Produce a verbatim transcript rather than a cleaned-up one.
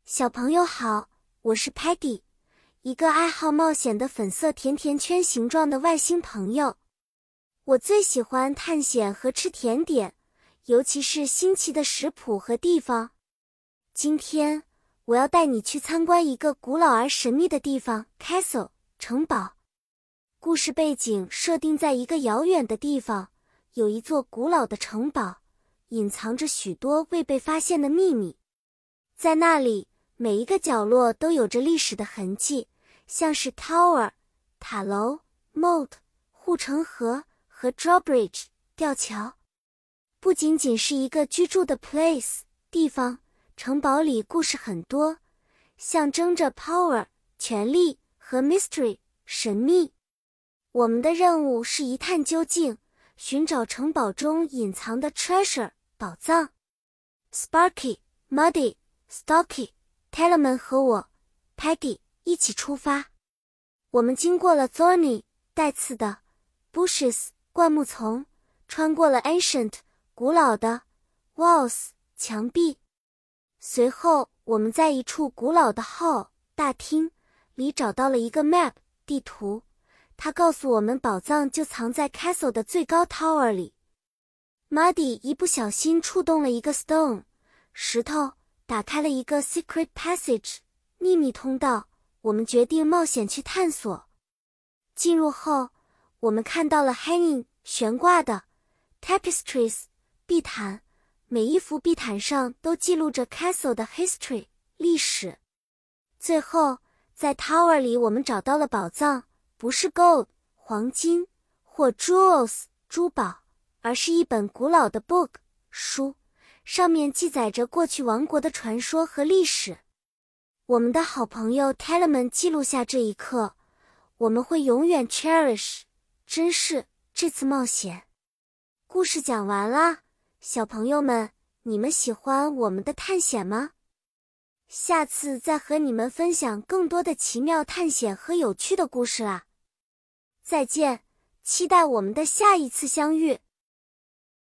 小朋友好，我是 Peggy， 一个爱好冒险的粉色甜甜圈形状的外星朋友。我最喜欢探险和吃甜点，尤其是新奇的食谱和地方。今天，我要带你去参观一个古老而神秘的地方 Castle 城堡。故事背景设定在一个遥远的地方，有一座古老的城堡，隐藏着许多未被发现的秘密。在那里，每一个角落都有着历史的痕迹，像是 Tower 塔楼、Moat 护城河和 Drawbridge 吊桥。不仅仅是一个居住的 place 地方，城堡里故事很多，象征着 power 权力和 mystery 神秘。我们的任务是一探究竟，寻找城堡中隐藏的 treasure 宝藏。Sparky、Muddy、Stocky、Tellerman 和我 Peggy 一起出发。我们经过了 Thorny 带刺的 bushes 灌木丛，穿过了 ancient 古老的 walls 墙壁。随后我们在一处古老的 hall 大厅里找到了一个 map 地图，它告诉我们宝藏就藏在 castle 的最高 tower 里。Muddy 一不小心触动了一个 stone 石头，打开了一个 secret passage 秘密通道，我们决定冒险去探索。进入后，我们看到了 hanging 悬挂的 tapestries 壁毯，每一幅壁毯上都记录着 castle 的 history 历史。最后，在 tower 里我们找到了宝藏，不是 gold 黄金或 jewels 珠宝，而是一本古老的 book 书，上面记载着过去王国的传说和历史。我们的好朋友 Tellerman 记录下这一刻，我们会永远 cherish 珍视这次冒险。故事讲完了，小朋友们，你们喜欢我们的探险吗？下次再和你们分享更多的奇妙探险和有趣的故事啦。再见，期待我们的下一次相遇。